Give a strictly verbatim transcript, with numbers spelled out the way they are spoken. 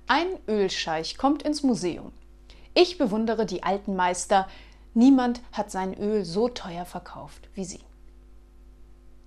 Ein Ölscheich kommt ins Museum. Ich bewundere die alten Meister. Niemand hat sein Öl so teuer verkauft wie sie.